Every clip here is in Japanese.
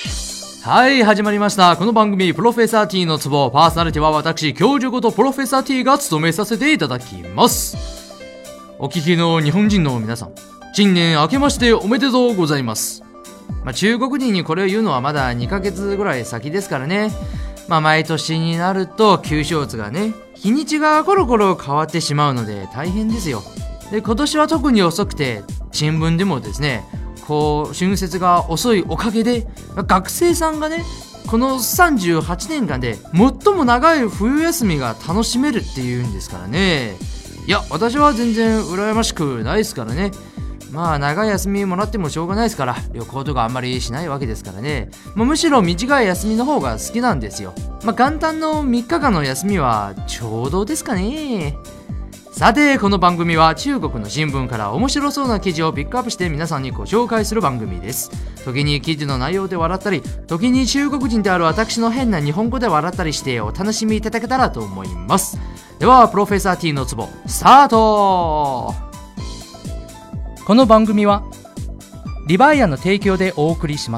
はい、始まりました。この番組、プロフェッサー T のツボ、パーソナリティは私、教授ことプロフェッサー T が務めさせていただきます。お聞きの日本人の皆さん、新年明けましておめでとうございます。中国人にこれを言うのはまだ2ヶ月ぐらい先ですからね。毎年になると旧正月がね、日にちがコロコロ変わってしまうので大変ですよ。で、今年は特に遅くて、新聞でもですね、春節が遅いおかげで学生さんがね、この38年間で最も長い冬休みが楽しめるっていうんですからね。いや、私は全然羨ましくないですからね。長い休みもらってもしょうがないですから、旅行とかあんまりしないわけですからね。むしろ短い休みの方が好きなんですよ。元旦の3日間の休みはちょうどですかね。さて、この番組は中国の新聞から面白そうな記事をピックアップして皆さんにご紹介する番組です。時に記事の内容で笑ったり、時に中国人である私の変な日本語で笑ったりしてお楽しみいただけたらと思います。では、プロフェッサー T のツボスタート。この番組はリバイアの提供でお送りします。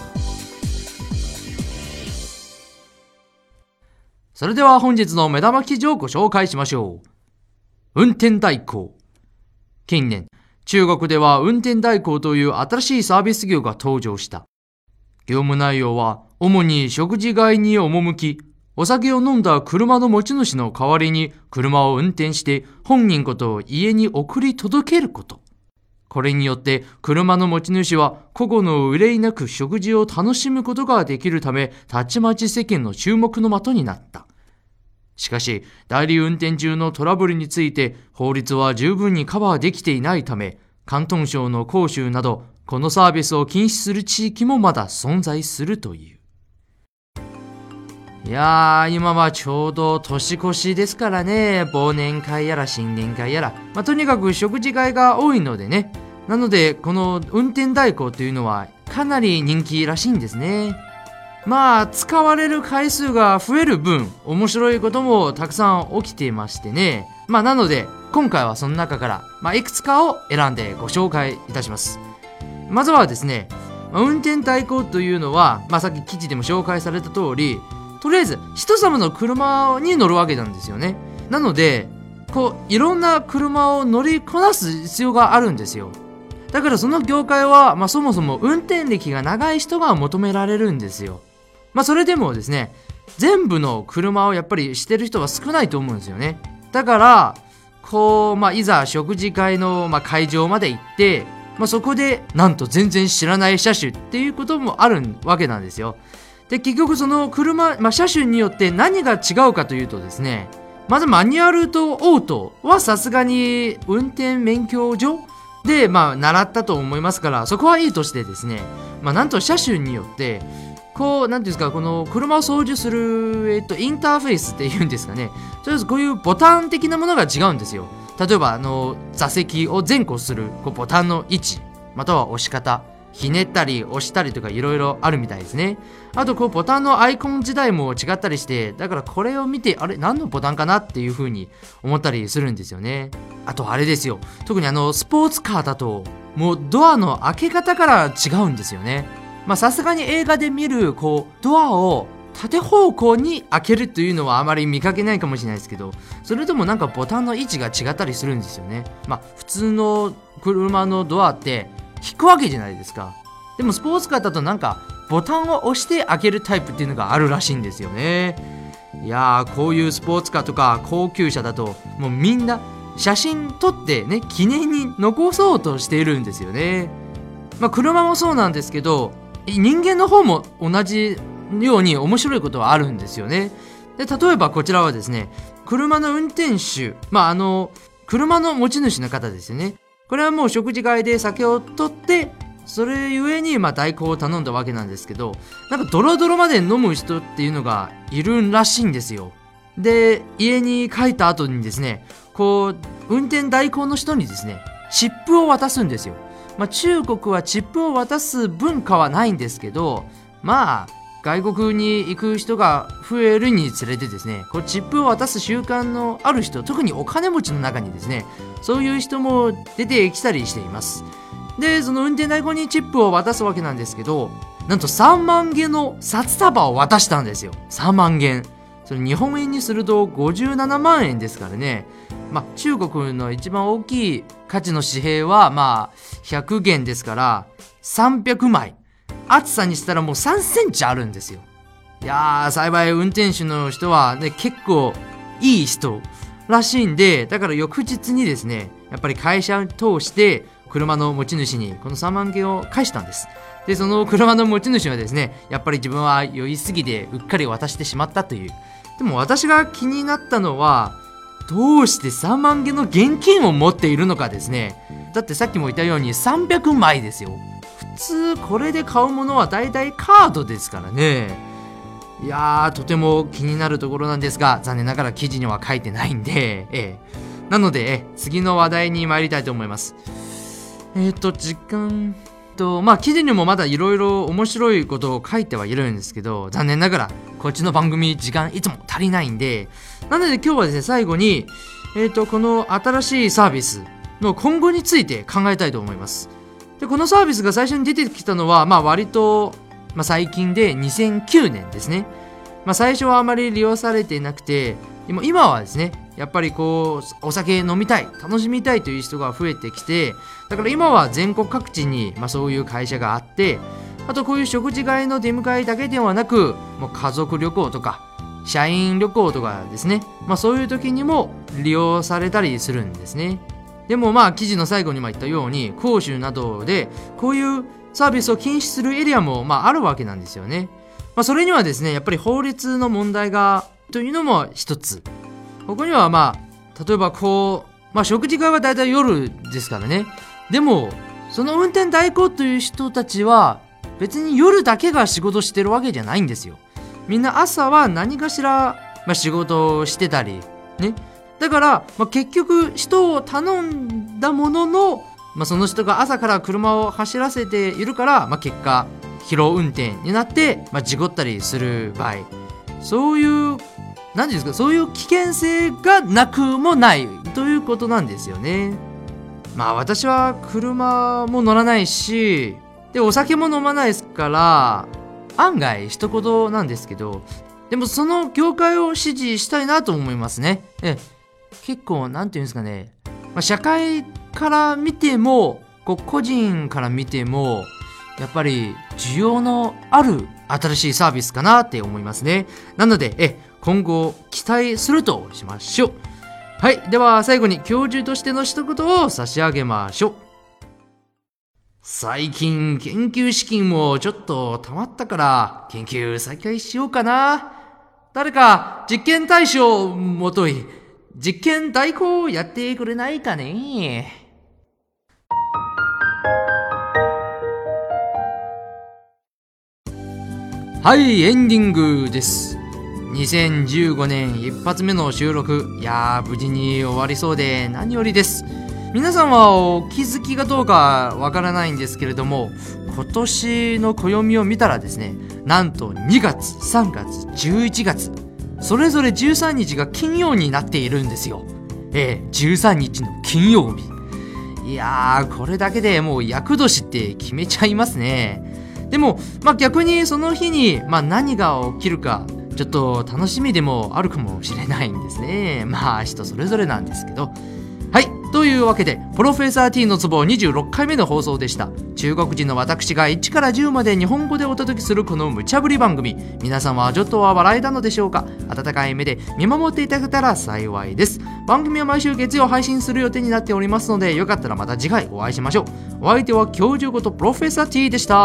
それでは本日の目玉記事をご紹介しましょう。運転代行。近年、中国では運転代行という新しいサービス業が登場した。業務内容は主に食事外に赴き、お酒を飲んだ車の持ち主の代わりに車を運転して本人ことを家に送り届けること。これによって車の持ち主は個々の憂いなく食事を楽しむことができるため、たちまち世間の注目の的になった。しかし、代理運転中のトラブルについて法律は十分にカバーできていないため、広東省の広州などこのサービスを禁止する地域もまだ存在するという。いやー、今はちょうど年越しですからね。忘年会やら新年会やら、とにかく食事会が多いのでね。なのでこの運転代行というのはかなり人気らしいんですね。使われる回数が増える分、面白いこともたくさん起きていましてね。なので今回はその中から、いくつかを選んでご紹介いたします。まずはですね、運転代行というのは、さっき記事でも紹介された通り、とりあえず人様の車に乗るわけなんですよね。なのでいろんな車を乗りこなす必要があるんですよ。だからその業界は、そもそも運転歴が長い人が求められるんですよ。それでもですね、全部の車をやっぱりしてる人は少ないと思うんですよね。だからいざ食事会の、会場まで行って、そこでなんと全然知らない車種っていうこともあるわけなんですよ。で、結局その車、車種によって何が違うかというとですね、まずマニュアルとオートはさすがに運転免許証で習ったと思いますから、そこはいいとしてですね、なんと車種によってなんていうんですか、この車を操縦する、インターフェースっていうんですかね。とりあえずこういうボタン的なものが違うんですよ。例えば座席を前後するボタンの位置、または押し方、ひねったり押したりとかいろいろあるみたいですね。あとボタンのアイコン自体も違ったりして、だからこれを見てあれ何のボタンかなっていう風に思ったりするんですよね。あとあれですよ、特にスポーツカーだともうドアの開け方から違うんですよね。さすがに映画で見るドアを縦方向に開けるというのはあまり見かけないかもしれないですけど、それでもボタンの位置が違ったりするんですよね。普通の車のドアって引くわけじゃないですか。でもスポーツカーだとボタンを押して開けるタイプっていうのがあるらしいんですよね。いやー、こういうスポーツカーとか高級車だともうみんな写真撮ってね、記念に残そうとしているんですよね。車もそうなんですけど、人間の方も同じように面白いことはあるんですよね。で、例えばこちらはですね、車の運転手、車の持ち主の方ですよね。これはもう食事会で酒を取って、それゆえに代行を頼んだわけなんですけど、ドロドロまで飲む人っていうのがいるらしいんですよ。で、家に帰った後にですね、運転代行の人にですね、チップを渡すんですよ。中国はチップを渡す文化はないんですけど、外国に行く人が増えるにつれてですね、チップを渡す習慣のある人、特にお金持ちの中にですね、そういう人も出てきたりしています。で、その運転代行にチップを渡すわけなんですけど、 なんと3万元の札束を渡したんですよ。3万元。それ日本円にすると57万円ですからね。中国の一番大きい価値の紙幣は100元ですから300枚。厚さにしたらもう3センチあるんですよ。いやー、幸い運転手の人はね、結構いい人らしいんで、だから翌日にですね、やっぱり会社を通して車の持ち主にこの3万元を返したんです。で、その車の持ち主はですね、やっぱり自分は酔いすぎてうっかり渡してしまったという。でも私が気になったのは、どうして3万元の現金を持っているのかですね。だってさっきも言ったように300枚ですよ。普通これで買うものはだいたいカードですからね。いやー、とても気になるところなんですが、残念ながら記事には書いてないんで、なので、次の話題に参りたいと思います。時間記事にもまだいろいろ面白いことを書いてはいるんですけど、残念ながらこっちの番組時間いつも足りないんで、なので今日はですね、最後にこの新しいサービスの今後について考えたいと思います。で、このサービスが最初に出てきたのは割と最近で2009年ですね。最初はあまり利用されていなくて、今はですね、やっぱりお酒飲みたい、楽しみたいという人が増えてきて、だから今は全国各地にそういう会社があって、あとこういう食事会の出迎えだけではなく、もう家族旅行とか社員旅行とかですね、そういう時にも利用されたりするんですね。でも記事の最後にも言ったように、広州などでこういうサービスを禁止するエリアもあるわけなんですよね。それにはですね、やっぱり法律の問題がというのも一つ。ここには例えば食事会はだいたい夜ですからね。でもその運転代行という人たちは別に夜だけが仕事してるわけじゃないんですよ。みんな朝は何かしら、仕事をしてたりね。だから、結局人を頼んだものの、その人が朝から車を走らせているから、結果疲労運転になって、事故ったりする場合、そういう何ですか、そういう危険性がなくもないということなんですよね。私は車も乗らないし、でお酒も飲まないですから案外一言なんですけど、でもその業界を支持したいなと思いますね。結構なんていうんですかね、社会から見ても個人から見てもやっぱり需要のある新しいサービスかなって思いますね。なので今後期待するとしましょう。はい、では最後に教授としての一言を差し上げましょう。最近研究資金もちょっと溜まったから研究再開しようかな。誰か実験対象をもとい実験代行をやってくれないかね。はい、エンディングです。2015年一発目の収録、いやー無事に終わりそうで何よりです。皆さんはお気づきがどうかわからないんですけれども、今年の暦を見たらですね、なんと2月、3月、11月それぞれ13日が金曜になっているんですよ。13日の金曜日。いやー、これだけでもう厄年って決めちゃいますね。でも逆にその日に何が起きるかちょっと楽しみでもあるかもしれないんですね。人それぞれなんですけど。はい、というわけでプロフェッサー T のツボ26回目の放送でした。中国人の私が1から10まで日本語でお届けするこの無茶ぶり番組、皆さんはちょっとは笑えたのでしょうか。温かい目で見守っていただけたら幸いです。番組は毎週月曜配信する予定になっておりますので、よかったらまた次回お会いしましょう。お相手は教授ことプロフェッサー T でした。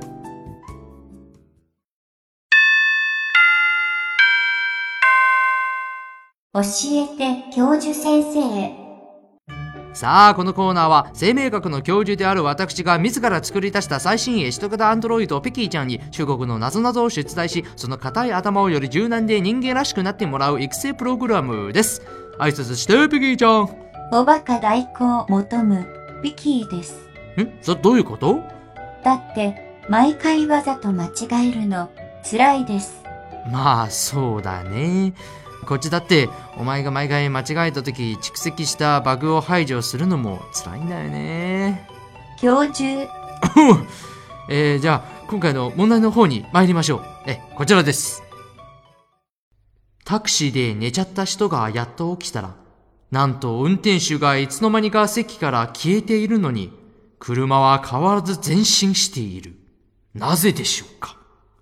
教えて教授先生。 さあ、このコーナーは生命学の教授である私が自ら作り出した最新鋭首都型アンドロイドペキーちゃんに中国の謎々を出題し、その硬い頭をより柔軟で人間らしくなってもらう育成プログラムです。挨拶してペキーちゃん。 おバカ代行求むペキーです。 どういうこと？ だって毎回わざと間違えるの辛いです。 そうだね。こっちだってお前が毎回間違えた時蓄積したバグを排除するのも辛いんだよね。 教授じゃあ今回の問題の方に参りましょう。こちらです。タクシーで寝ちゃった人がやっと起きたら、なんと運転手がいつの間にか席から消えているのに、車は変わらず前進している。なぜでしょうか。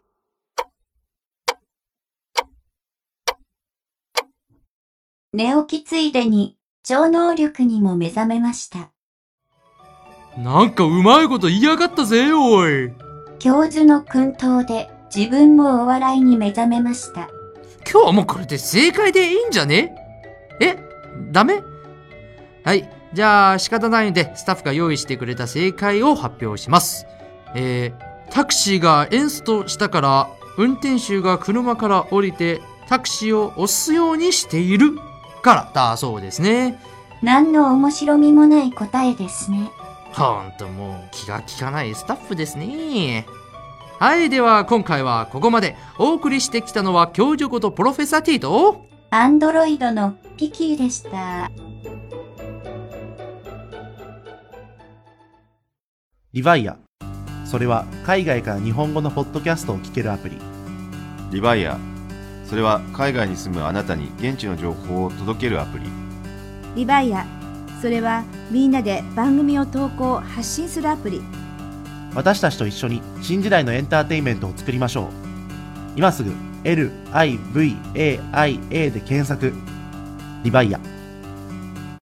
寝起きついでに超能力にも目覚めました。 なんかうまいこと言いやがったぜ、おい。 教授の薫陶で自分もお笑いに目覚めました。 今日はもうこれで正解でいいんじゃね？ダメ？はい。じゃあ仕方ないのでスタッフが用意してくれた正解を発表します。タクシーがエンストしたから運転手が車から降りてタクシーを押すようにしているからだそうですね。 何の面白みもない答えですね。 ほんともう気が利かないスタッフですね。はい。では今回はここまで。お送りしてきたのは教授ことプロフェッサー T とアンドロイドのピキーでした。 リヴァイア。それは海外から日本語のポッドキャストを聞けるアプリ。 リバイア。それは海外に住むあなたに現地の情報を届けるアプリ。 リバイア。それはみんなで番組を投稿発信するアプリ。 私たちと一緒に新時代のエンターテインメントを作りましょう。今すぐ LIVAIA で検索。リバイア。